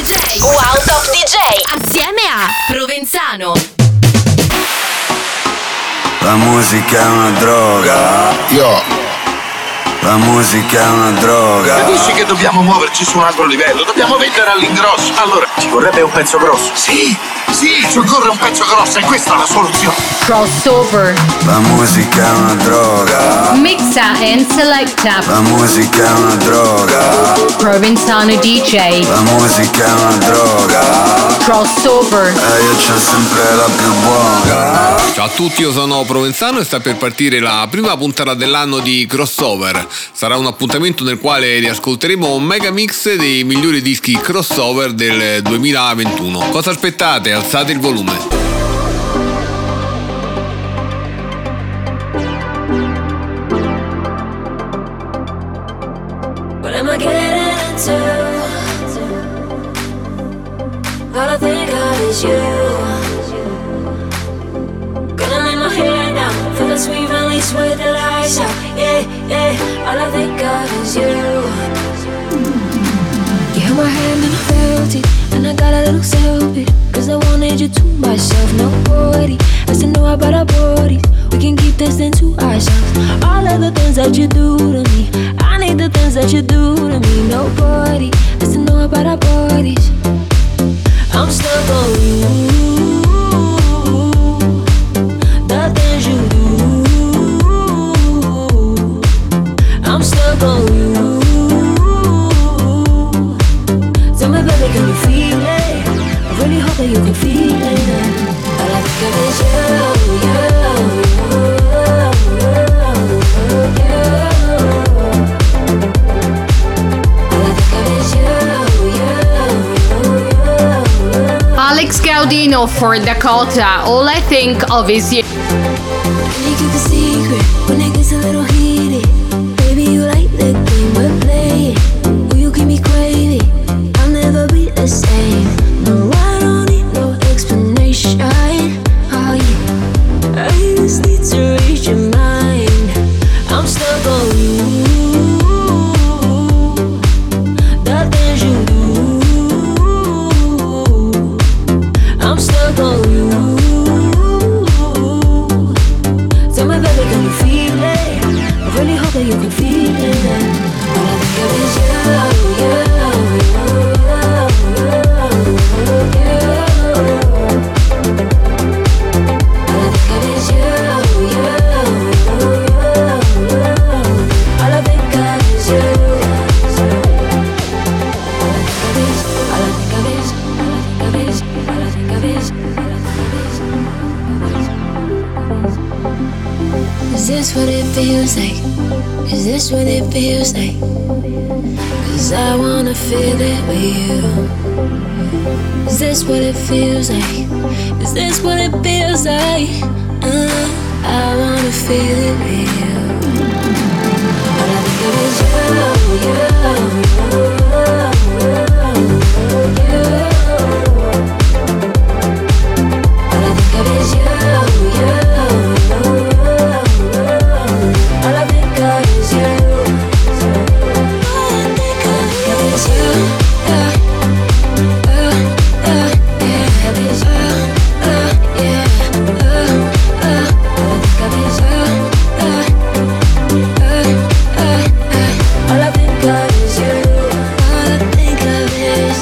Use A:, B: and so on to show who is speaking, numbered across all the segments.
A: DJ Wow Top DJ assieme a Provenzano.
B: La musica è una droga. La musica è una droga.
C: Capisci che dobbiamo muoverci su un altro livello? Dobbiamo vendere all'ingrosso. Allora, ci vorrebbe un pezzo grosso. Sì, ci occorre un pezzo grosso e questa è la soluzione.
D: Crossover.
B: La musica è una droga.
D: Mixa and selecta.
B: La musica è una droga.
D: Provenzano DJ.
B: La musica è una droga.
D: Crossover.
B: E io c'ho sempre la più buona.
E: Ciao a tutti, io sono Provenzano e sta per partire la prima puntata dell'anno di Crossover. Sarà un appuntamento nel quale riascolteremo un mega mix dei migliori dischi crossover del 2021. Cosa aspettate? Alzate il volume.
F: What am I getting into? All I think of is you. Gonna lay my head down, feel the sweet release with the lights out. Yeah, all I think of is you. You held my hand and I felt it, and I got a little selfish, cause I wanted you to myself. Nobody has to know about our bodies, we can keep this thing to ourselves. All of the things that you do to me, I need the things that you do to me. Nobody has to know about our bodies. I'm stuck on you, the things you do. I'm stuck on you. Tell me, baby, can you feel it? I really hope that you can feel it. All I think of is you, All I think of is you.
D: Alex Gaudino for Dakota. All I think of is you.
F: Can you keep the secret when it gets a little heated? Baby, you like the game we're playing. Will you keep me craving? I'll never be the same. No, I don't need no explanation. Oh yeah, I just need to reach your mind. I'm stuck on you, the things you do. I'm stuck on you. Tell me, baby, can you feel it? I really hope that you can feel it. All I think of is you. All I think of is you. All I think of is you. All I think of is, all I think of is, all I think of is, all I think of is. Is this what it feels like? Is this what it feels like? 'Cause I wanna feel it with you. Is this what it feels like? Is this what it feels like? I wanna feel it with you. All I think of is you, All I think of is you. All I think of is you. All I think of is you. All I think of is you. All I think of is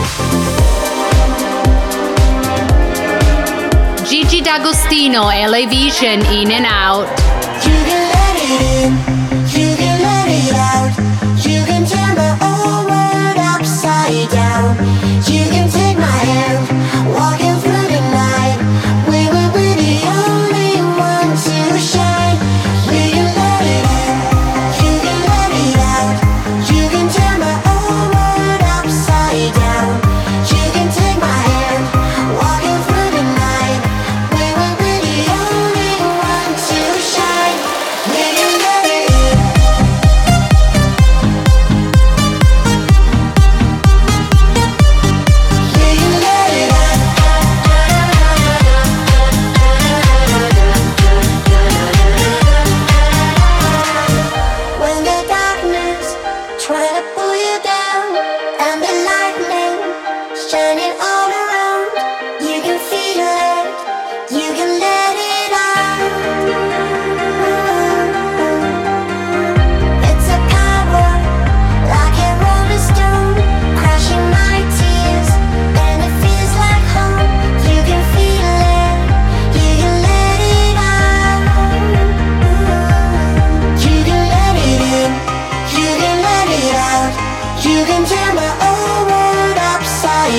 F: you.
D: Gigi D'Agostino, LA Vision, In and Out.
G: You can let it in, you can let it out. You can turn my whole world upside down. You can take my hand, walking through the night. We will be the only one to shine. We can let it in, you can let it out. You can turn my whole world upside down. You can take my hand, walking through the night. We will be the only one to shine. We can let it in.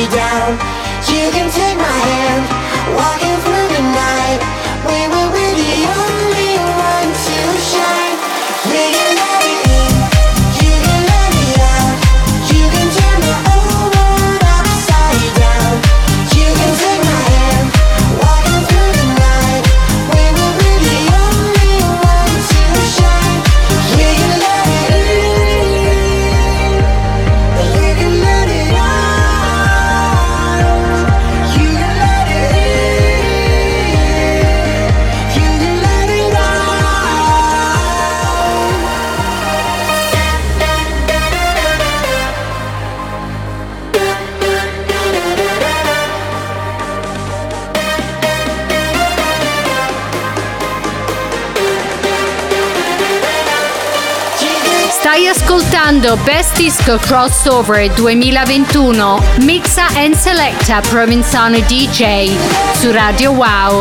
G: upside down. You can take my hand, walking through the night. We will be the only one to shine. We can let it in, you can let it out. You can turn the whole world upside down. You can take my hand, walking through the night. We will be the only one to shine. We can let it in, you can let it out. You can let it in, you can let it out.
D: Stai ascoltando Best Disco Crossover 2021, Mixa and Selecta Provenzano DJ su Radio Wow.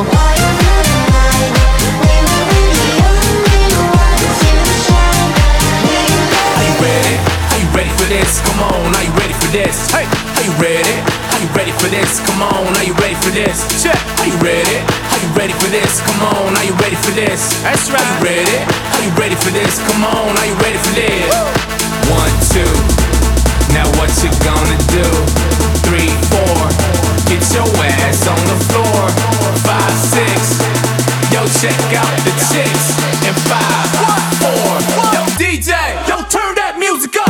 H: Are you ready? Are you ready for this? Come on, are you ready for this? Hey, are you ready? Are you ready for this? Come on, are you ready for this? Check. Are you ready? Are you ready for this? Come on, are you ready for this? That's right. Are you ready? Are you ready for this? Come on, are you ready for this? 1, 2. Now what you gonna do? 3, 4. Get your ass on the floor. 5, 6. Yo, check out the chicks. And 5, 4. Yo, DJ, yo, turn that music up.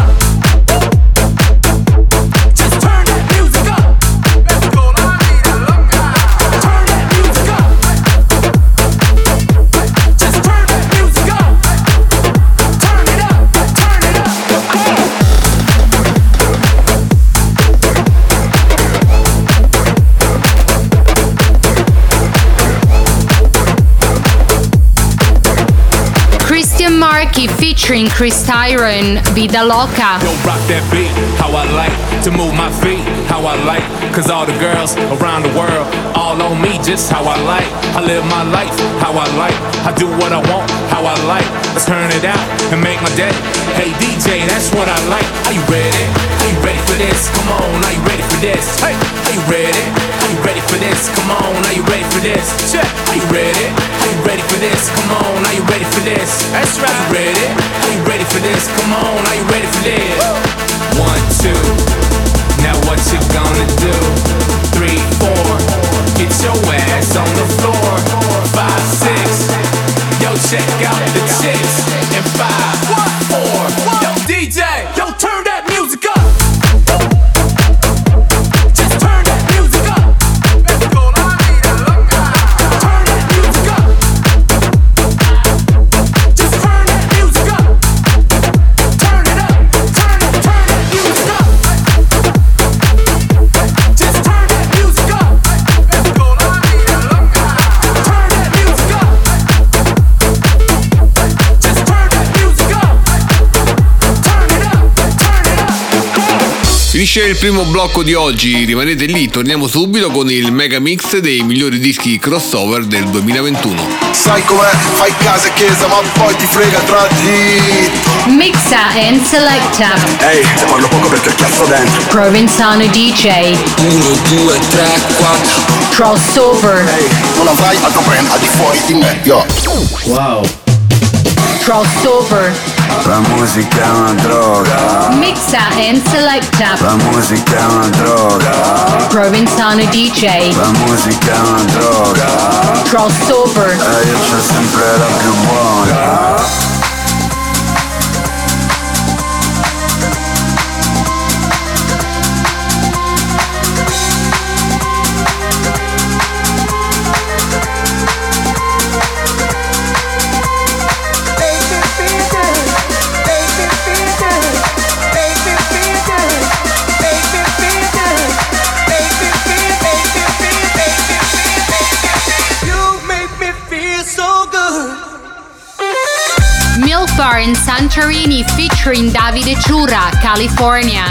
H: Just turn that music up. Let's go, la vida loca. Turn that music up. Just turn that music up. Turn it up, turn it up.
D: Christian Marchi featuring Chris Tyron, Vida Loca.
H: Yo, rock that beat, how I like to move my feet, how I like, cause all the girls around the world, all on me, just how I like. I live my life, how I like. I do what I want, how I like. Let's turn it out and make my day. Hey DJ, that's what I like. Are you ready? Are you ready for this? Come on, are you ready for this? Hey, are you ready? Are you ready for this? Come on, are you ready for this? Check. Are you ready? Are you ready for this? Come on, are you ready for this? That's right. Are you ready? Are you ready for this? Come on, are you ready for this? 1, 2. Now what you gonna do? 3, 4. Get your ass on the floor. 5, 6. Yo, check out the chicks. And 5, 4. Yo, DJ, yo, turn that music up. Just turn that music up. Let's go, la vida loca. Turn that music up. Just turn that music up. Turn it up. Turn that music up. Just turn that music up. Let's go, la vida loca. Turn that music up. Just turn that music up. Turn it up. Turn it up.
E: Finisce il primo blocco di oggi, rimanete lì, torniamo subito con il mega mix dei migliori dischi crossover del 2021.
C: Sai com'è? Fai casa e chiesa ma poi ti frega tra dito.
D: Mixa and Selecta
C: Ehi, te parlo poco perché ho il cazzo dentro.
D: Provenzano DJ
B: 1, 2, 3, 4.
D: Crossover.
C: Ehi, non avrai altro brand al di fuori di me. Yo.
D: Crossover.
B: La musica è una droga.
D: Mixa and Selecta
B: La musica è una droga.
D: Provenzano DJ
B: La musica è una droga.
D: Crossover.
B: E io c'ho sempre la più buona.
D: Milfar and Santorini featuring Davide Ciura, California.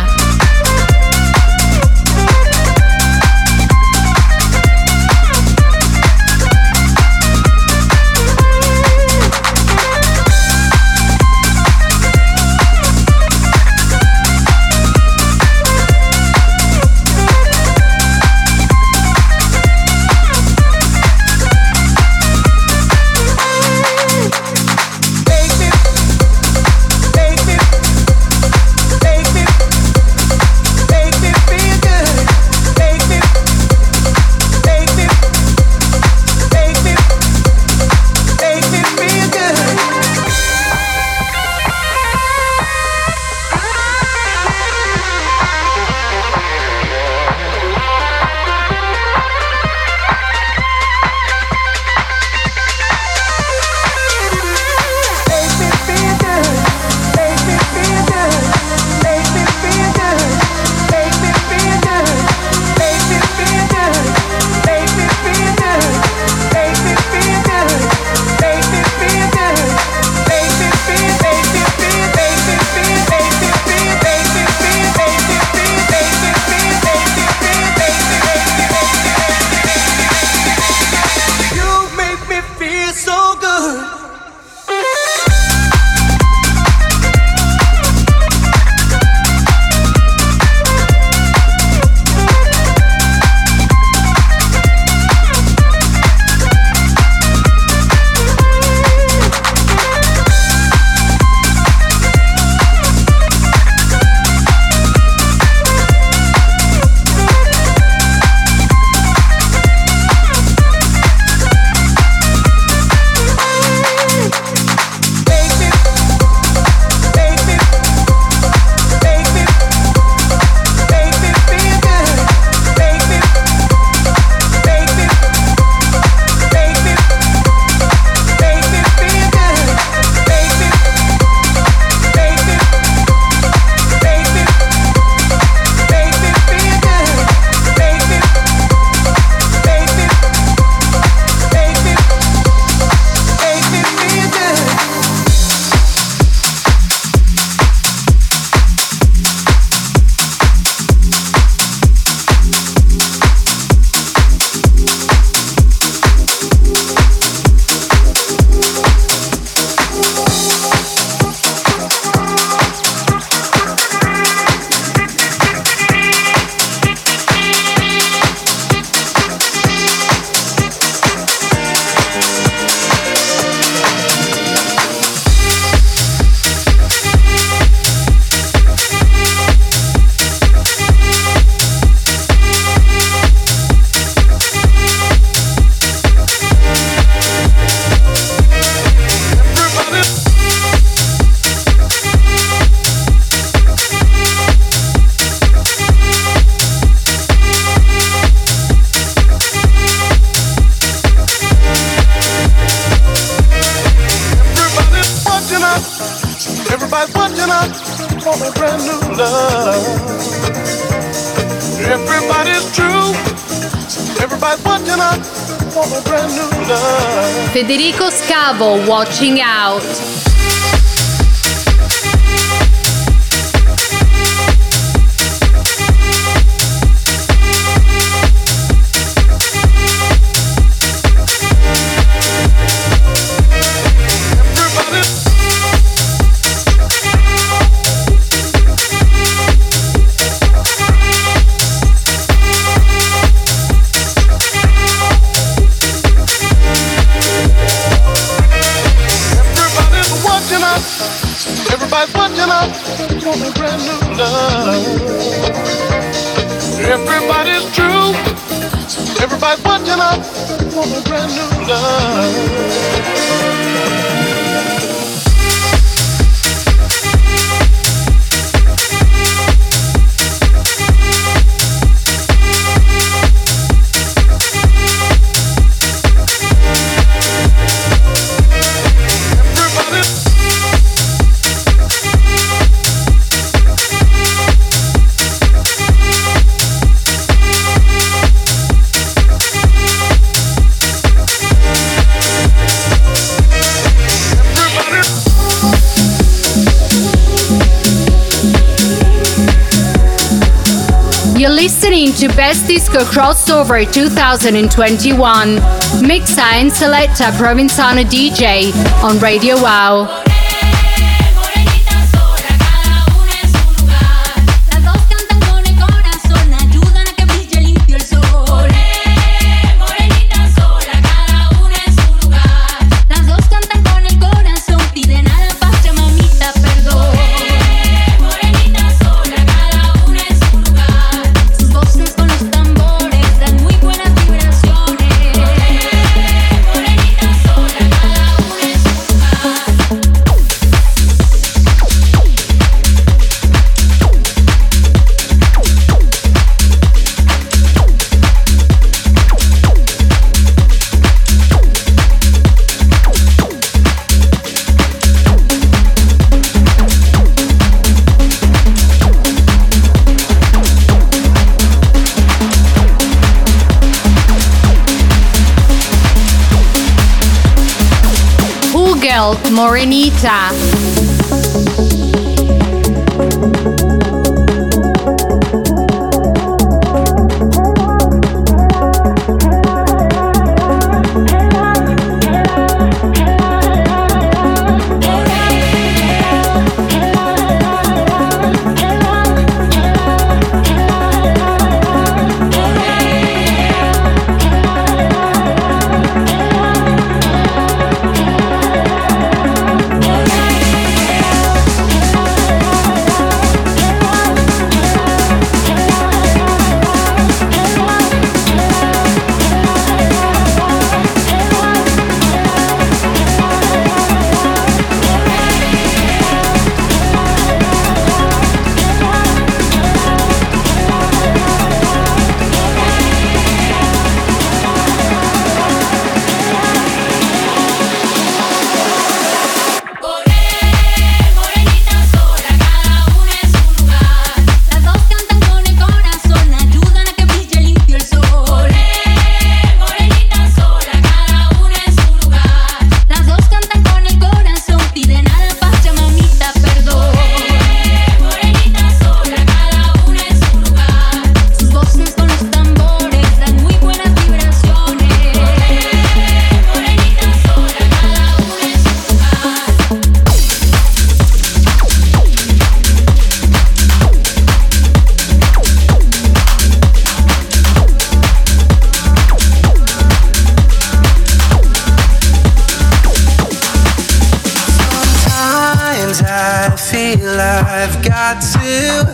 I: love. Everybody's true. Everybody's watching up for a brand new love.
D: Federico Scavo, Watching Out.
I: Everybody's watching up for a brand new love. Everybody's true. Everybody's watching up for a brand new love.
D: You're listening to Best Disco Crossover 2021. Mixa and Selecta Provenzano DJ on Radio Wow. Morenita.
J: I've got to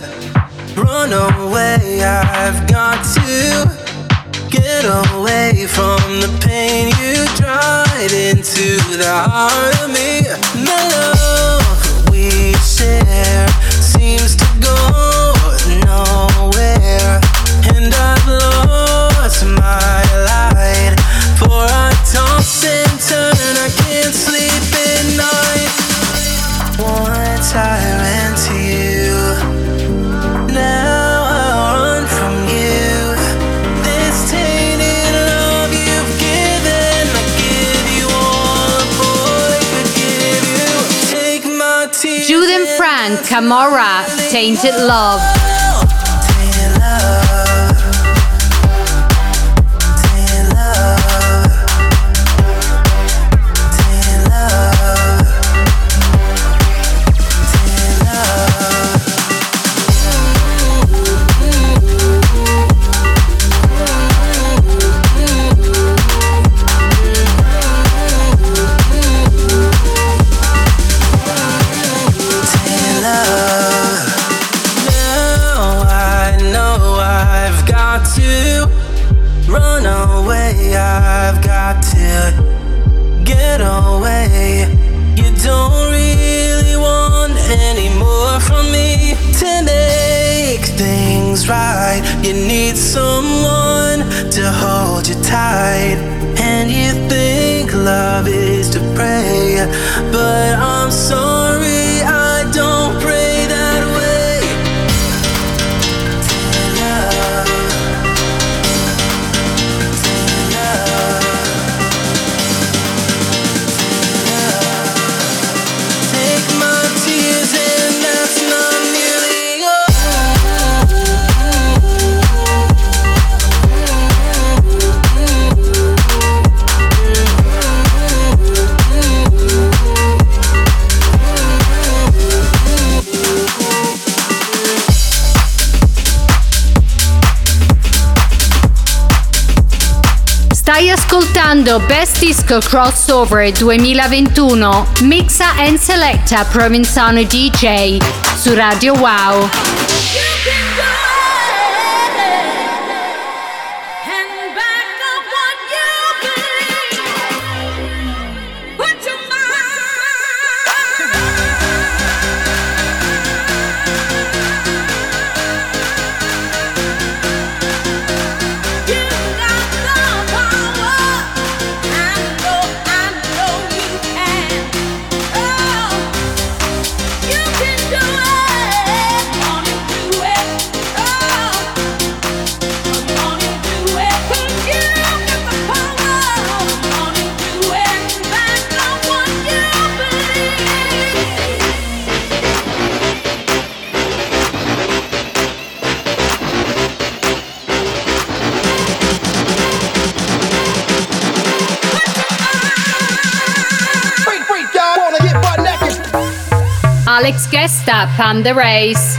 J: run away. I've got to get away from the pain you dried into the heart of me. The love we share seems to go nowhere, and I've lost my light. For I toss and turn, I can't sleep at night. Once I ran to you,
D: Camorra, Tainted Love. Stai ascoltando Best Disco Crossover 2021, mixa and selecta Provenzano DJ su Radio Wow. Alex Gesta, Panda Race.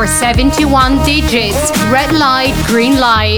D: for 71 digits. Red light, green light.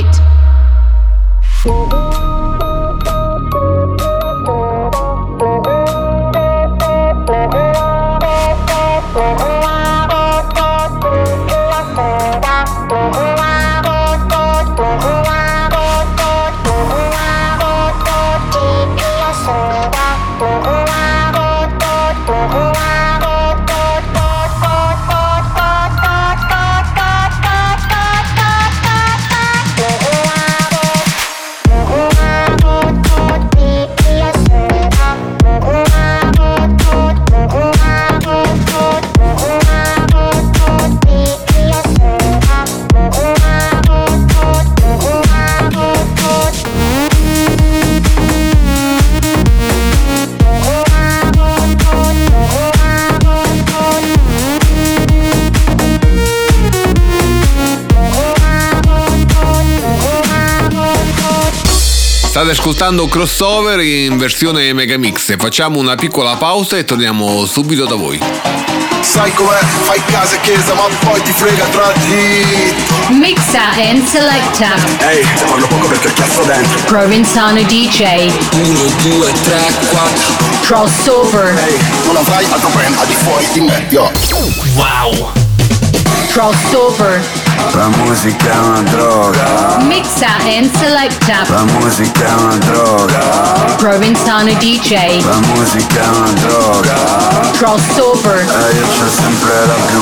E: State ascoltando Crossover in versione Megamix. Facciamo una piccola pausa e torniamo subito da voi.
I: Sai com'è, fai casa e chiesa ma poi ti frega tra di...
D: Mixa and selecta.
C: Ehi, te parlo poco perché cazzo dentro.
D: Provenzano DJ.
J: 1, 2, 3, 4.
D: Crossover.
I: Ehi, non avrai altro brand al di fuori di me, yo.
J: Wow.
D: Crossover.
B: La musica è una droga.
D: Mixa and selecta.
B: La musica è una droga.
D: Provenzano DJ.
B: La musica è una droga.
D: Crossover.
B: Io c'ho sempre la più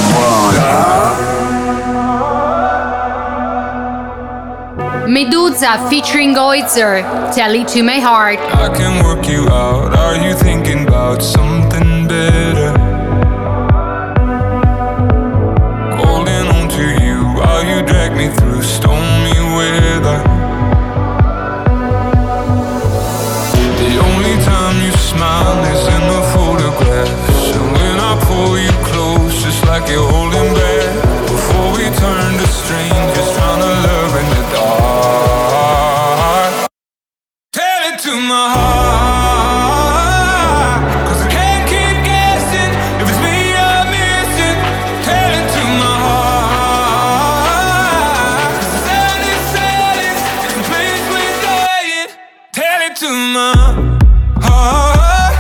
B: buona.
D: Medusa featuring Oizer. Tell it to my heart.
K: I can work you out. Are you thinking about something better? Holding on to you while you drag me through stormy weather. The only time you smile is in the photographs, and when I pull you close, just like you're holding back. Before we turn to strangers, trying to love in the dark. Tell it to my heart, 'cause I can't keep guessing if it's me you're missing. Tell it to my heart, 'cause the silence is the place we're dying. Tell it to my heart,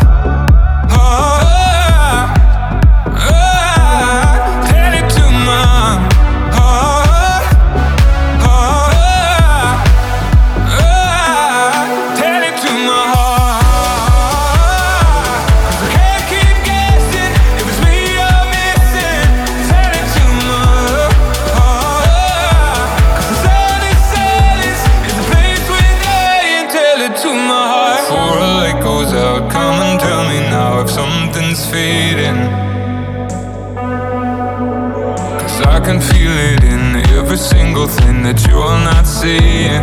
K: heart, heart. Tell it to my heart, heart, heart. Tell it to my heart, 'cause I can't keep guessing if it's me you're missing. Tell it to my heart, 'cause the silence is the place we're dying. Tell it to my heart. Before a light goes out, come and tell me now if something's fading. 'Cause I can feel it in every single thing that you're not saying.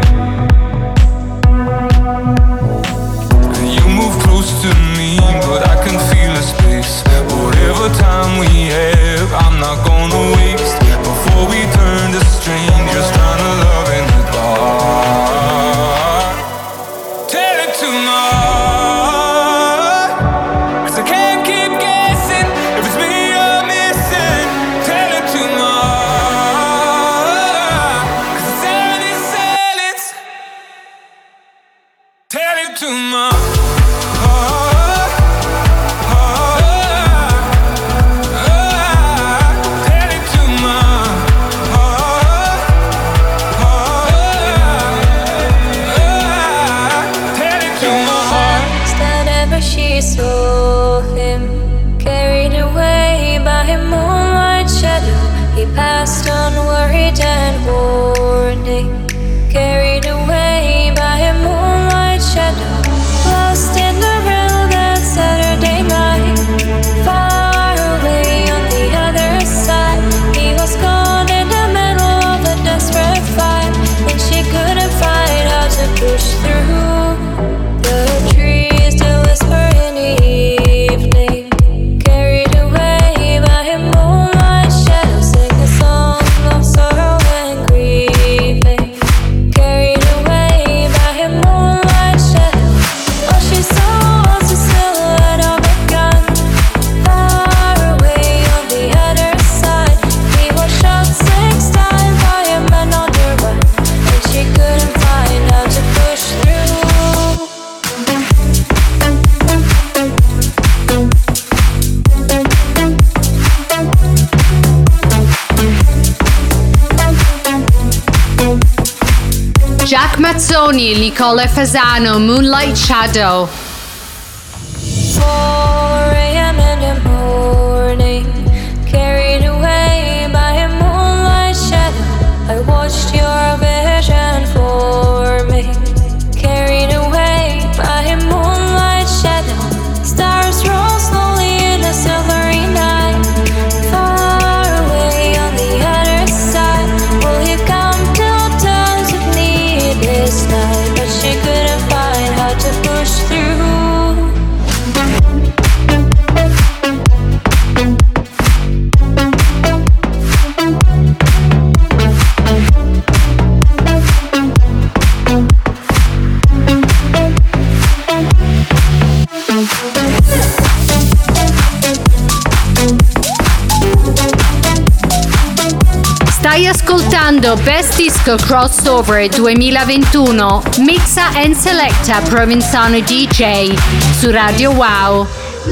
K: And you move close to me, but I can feel a space. Whatever time we have, I'm not gonna waste. Before we turn to strangers, trying to love in the dark. Tell it to my heart, 'cause I can't keep guessing if it's me you're missing. Tell it to my heart, 'cause the sound is silence. Tell it to my heart, heart, heart. Tell it to my heart, heart, heart. Tell it to my heart.
F: That ever she saw him, carried away by a moonlight shadow. He passed unworried and warning, carried away by a moonlight shadow. Lost in the realm that Saturday night, far away on the other side. He was caught in the middle of a desperate fight, and she couldn't find how to push through. The trees still whisper in the evening, carried away by a moonlight shadow. Sing a song of sorrow and grieving.
D: Mazzoni, Nicola Fasano, Moonlight Shadow.
F: 4 a.m. in the morning, carried away by a moonlight shadow. I watched your vision for me, carried away by a moonlight shadow. Stars roll slowly in a silvery night, far away on the other side. Will you come to terms with me this night? But she couldn't find how to push through.
D: Stai ascoltando Best Disco Crossover 2021, mixa and selecta Provenzano DJ su Radio Wow.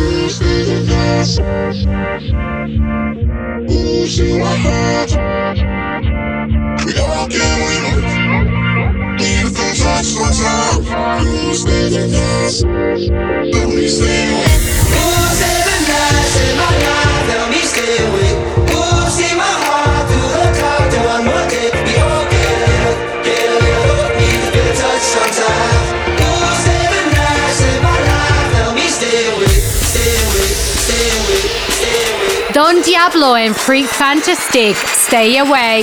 D: Don Diablo and Freak Fantastic, Stay Awake.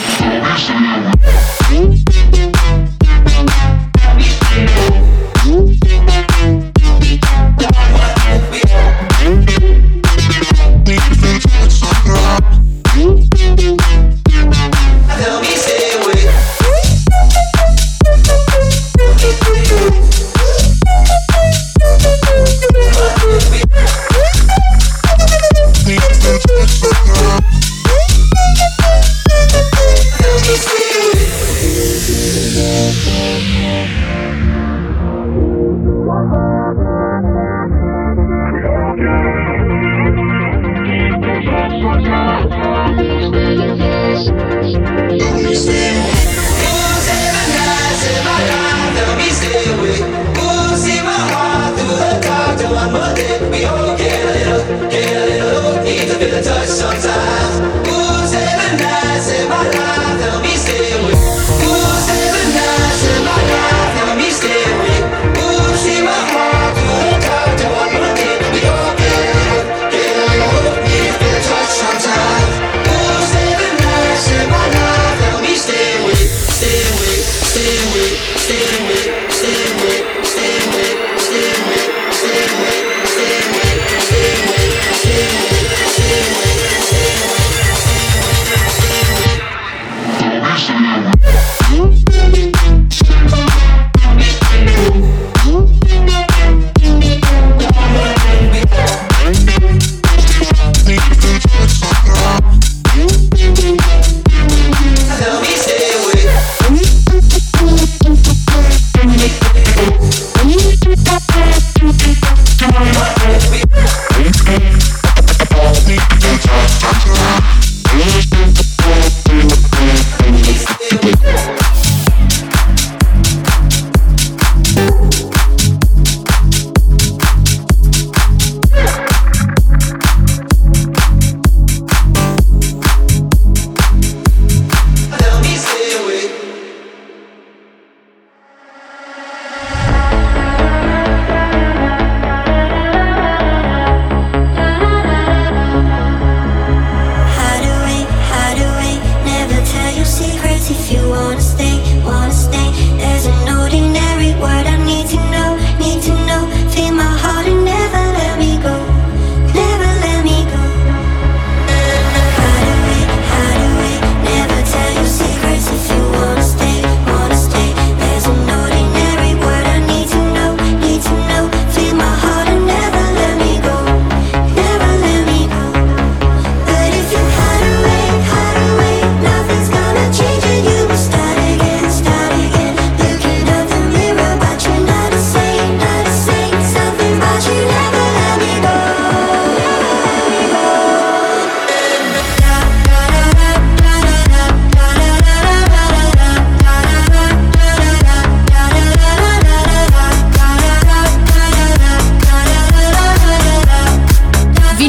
G: Stay away.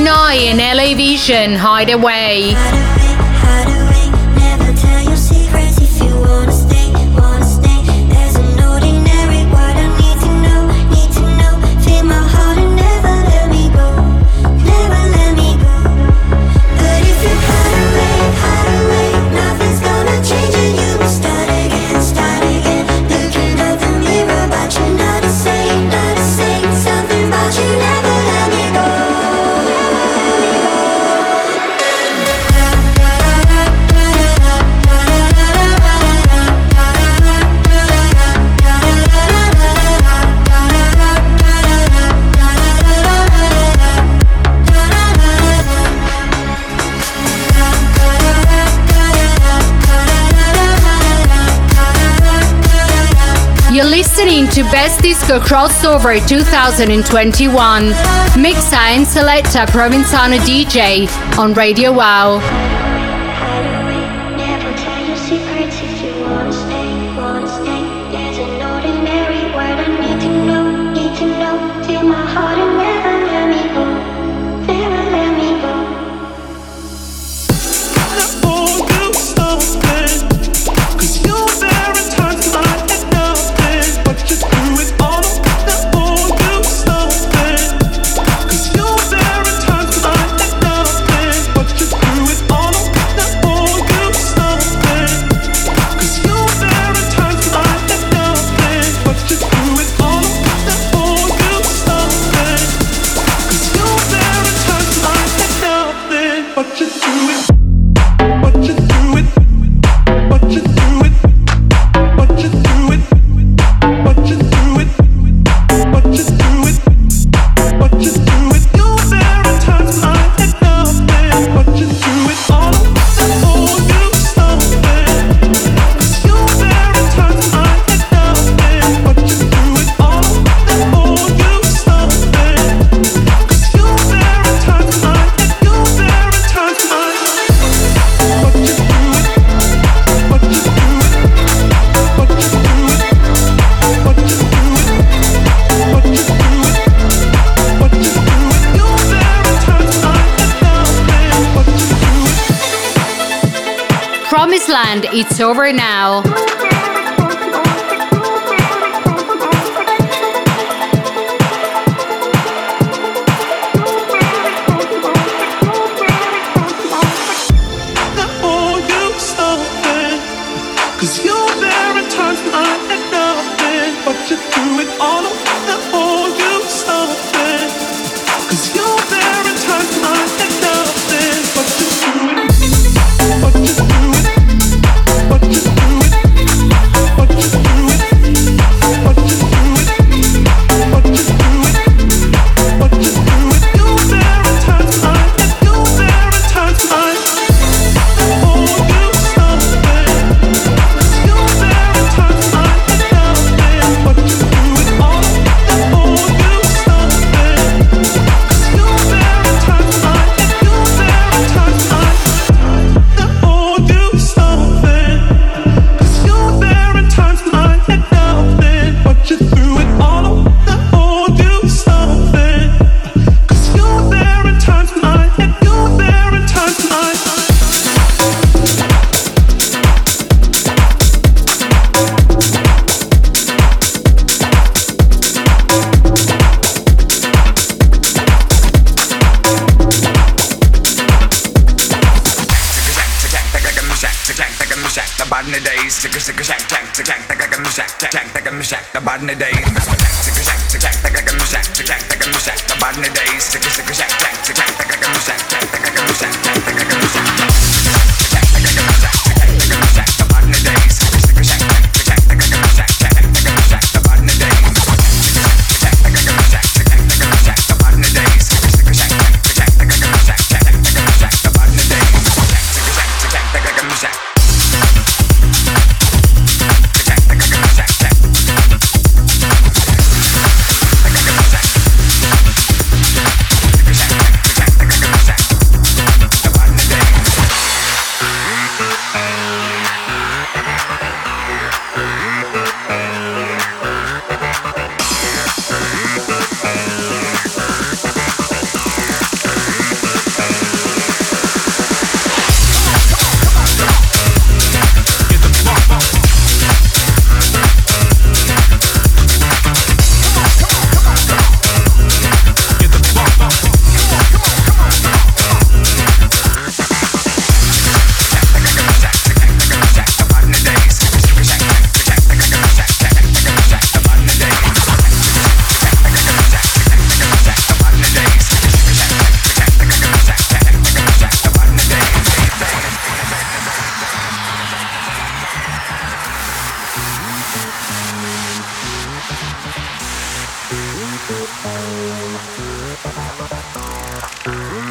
D: Noi in LA Vision Hideaway. You're listening to Best Disco Crossover 2021. Mixa and Selecta Provenzano DJ on Radio Wow.
F: Never tell your secrets if you wanna stay. There's an ordinary word I need to know. Feel my heart and never let me go. Never let me go.
I: I owe you something, 'cause you're there in times when I had nothing, but you threw it all up. I owe you something, 'cause you're there in times when I had nothing, but you threw it all up. I owe you something, 'cause you're there in times when I had nothing, but you threw it all up. I owe you something, 'cause you're there in times when I had nothing, but you threw it. But you threw it, but you threw it, but you threw it, but you threw it, but you threw it, but you threw it. You were there in times when I had nothing, but you threw it all. I owe you something, 'cause you were there in times when I had nothing, but you threw it all. I owe you something, 'cause you were there in times when I had, you were there in times when I. But you threw it, but you threw it, but you threw it, but you threw it, but you threw it, but you threw it. You were there in times when I had nothing, but you threw it.
D: Promised Land, it's over now.
I: I owe you something, 'cause you were there in times when I had nothing, but you threw it all up. I owe you something, 'cause you were there in times when I had nothing, but you threw it, but you threw it, but you threw it, but you threw it, but you threw it, but you threw it, but you threw it. You were there in times when I had, you were there in times when I. I owe you something, 'cause you were there in times when I had nothing, but you threw it all. I owe you something, 'cause you were there in times when I had, you were there in times when I. I owe you something, 'cause you were there in times when I had nothing, but you threw it all. I owe you something, 'cause you were there in times when I had, you were there in times when I.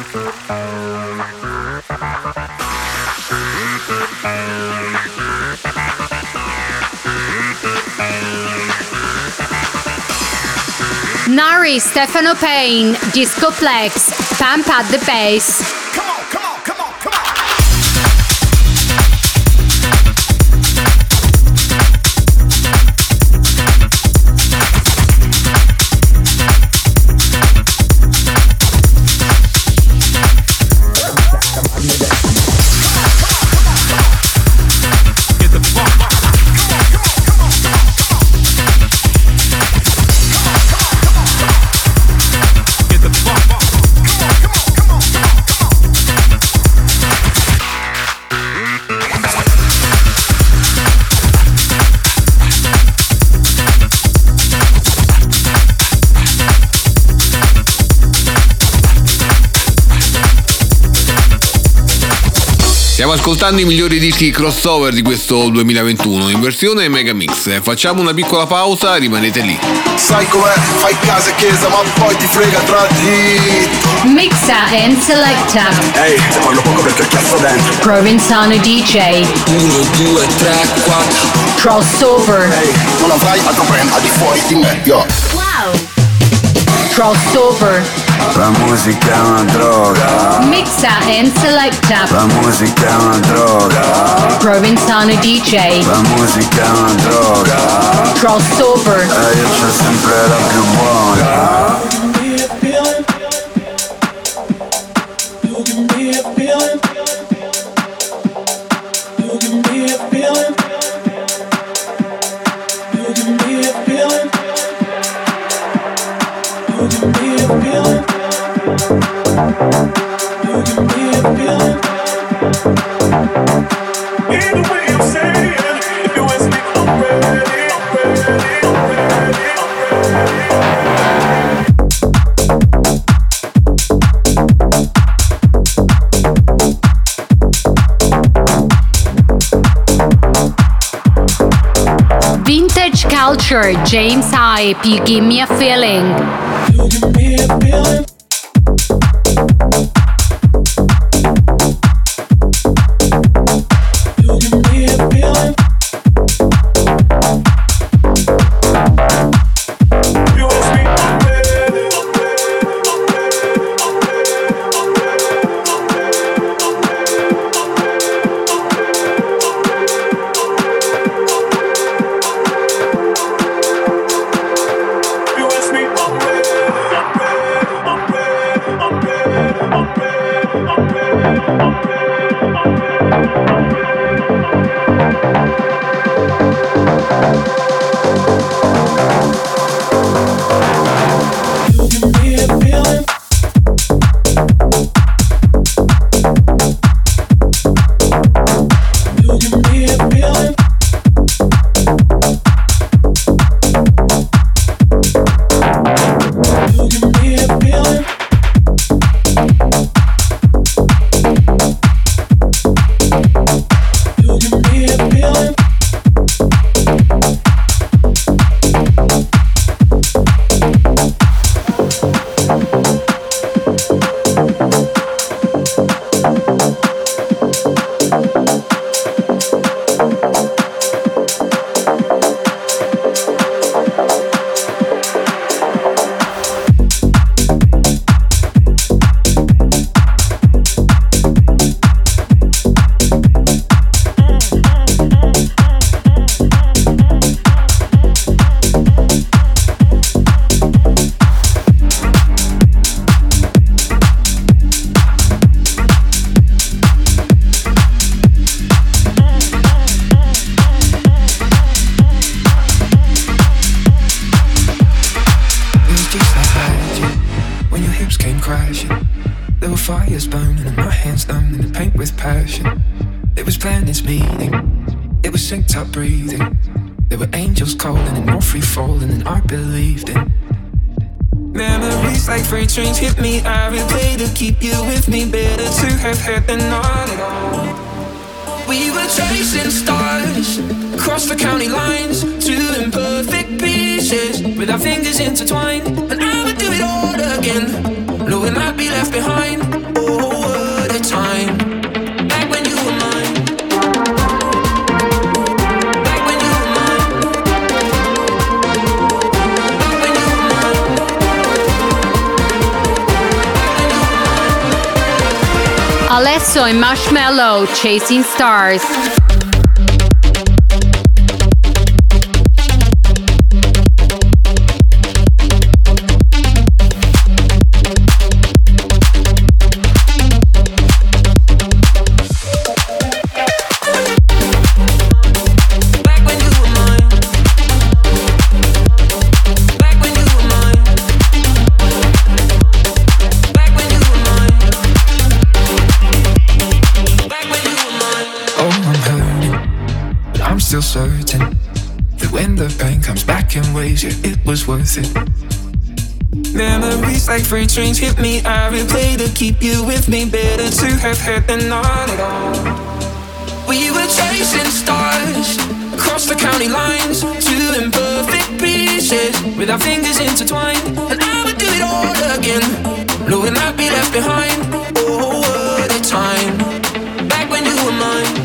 D: Nari, Stefano Payne, Discoplex, Pump at the Bass.
E: Stiamo ascoltando i migliori dischi crossover di questo 2021 in versione Megamix. Facciamo una piccola pausa, rimanete lì.
L: Sai com'è? Fai casa e chiesa, ma poi ti frega tra di...
D: Mixa and selecta.
L: Ehi, se parlo poco perché cazzo dentro.
D: Provenzano DJ.
J: 1, 2, 3, 4.
D: Crossover.
L: Ehi, non avrai altro brand al di fuori di me, yo.
D: Wow. Crossover.
B: La musica è una droga.
D: Mixa and selecta.
B: La musica è una droga.
D: Provenzano DJ.
B: La musica è una droga.
D: Crossover.
B: E io c'ho sempre la più buona.
D: Vintage Culture, James Hype, You Give Me a Feeling.
I: You give me a feeling. You give me a feeling. You ask me
J: fires burning and my hands numb in the paint with passion. It was planned this meeting, it was synced up breathing. There were angels calling and more free falling than I believed in. Memories like freight trains hit me, I replay to keep you with me. Better to have had than not at all. We were chasing stars across the county lines, two imperfect pieces with our fingers intertwined. And I would do it all again, knowing I'd be left behind.
D: Alesso e Marshmello, Chasing Stars.
K: Still certain that when the pain comes back in waves, yeah, it was worth it. Memories like freight trains hit me. I replay to keep you with me. Better to have had than not at all. We were chasing stars across the county lines, two imperfect pieces with our fingers intertwined. And I would do it all again, knowing I'd be left behind. Oh, what a time, back when you were mine.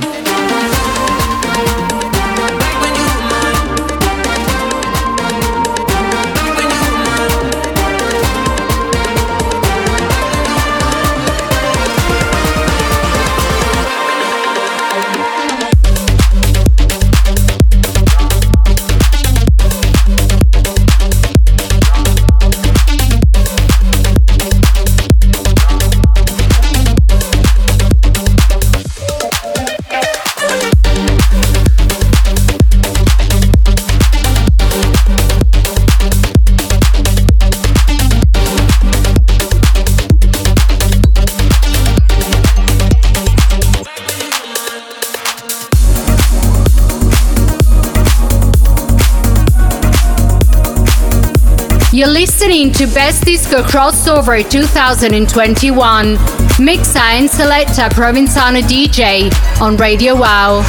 D: You're listening to Best Disco Crossover 2021. Mixa and Selecta Provenzano DJ on Radio Wow.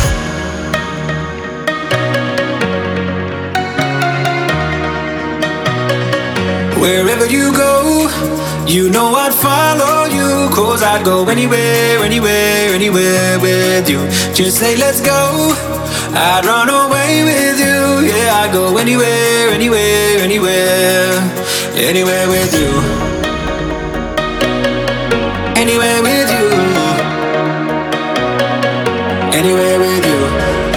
J: Wherever you go, you know I'd follow you. 'Cause I'd go anywhere, anywhere, anywhere with you. Just say let's go, I'd run away with you. Yeah, I'd go anywhere, anywhere, anywhere. Anywhere with you. Anywhere with you. Anywhere with you.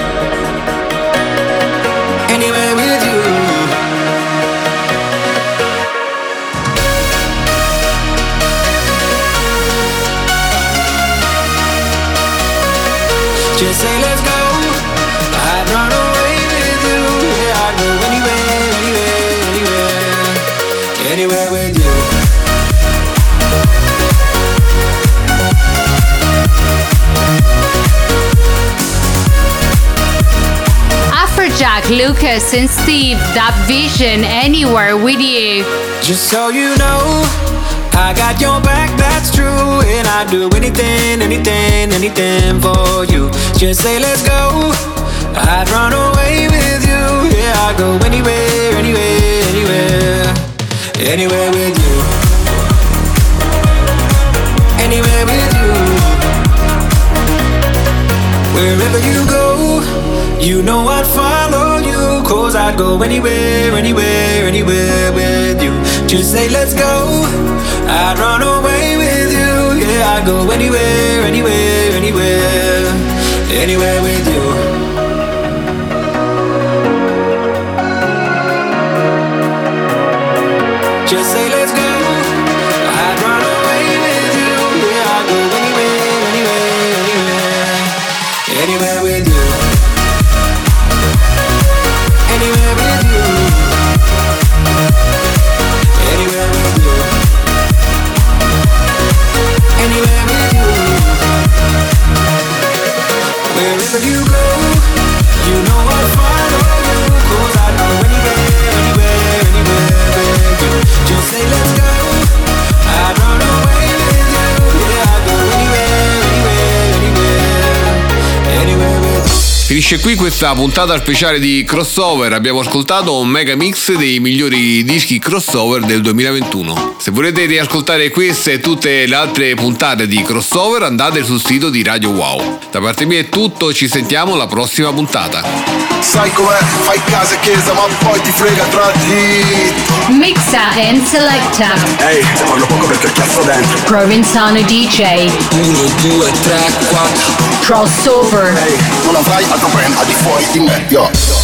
J: Anywhere with you. Just say let's go, I'd run away with you. Yeah, I'd go anywhere, anywhere, anywhere. Anywhere with you.
D: Afrojack, Lucas and Steve, That Vision, Anywhere with you.
J: Just so you know, I got your back, that's true. And I'd do anything, anything, anything for you. Just say let's go, I'd run away with you. Yeah, I'd go anywhere, anywhere, anywhere. Anywhere with you. Anywhere with you. Wherever you go, you know I'd follow you. 'Cause I'd go anywhere, anywhere, anywhere with you. Just say let's go, I'd run away with you. Yeah, I'd go anywhere, anywhere, anywhere. Anywhere with you. Just say let's go, I'd run away with you. Yeah, I'd go anywhere, anywhere, anywhere. Anywhere with you. Anywhere with you. Anywhere with you. Anywhere with you. Wherever you go, you know I'll follow you. 'Cause I'd go anywhere, anywhere, anywhere with you. Just say let's go, I'd run away with you. Yeah, I'd go anywhere, anywhere, anywhere. Anywhere with you.
E: Finisce qui questa puntata speciale di Crossover. Abbiamo ascoltato un mega mix dei migliori dischi crossover del 2021. Se volete riascoltare queste e tutte le altre puntate di Crossover, andate sul sito di Radio Wow. Da parte mia è tutto, ci sentiamo alla prossima puntata.
L: Sai com'è, fai casa e chiesa ma poi ti frega tra di
D: Mixa and selecta.
L: Ehi, te parlo poco perché cazzo dentro.
D: Provenzano DJ.
J: 1, 2, 3, 4.
D: Crossover.
L: Ehi, non avrai altro brand al di fuori di me, yo.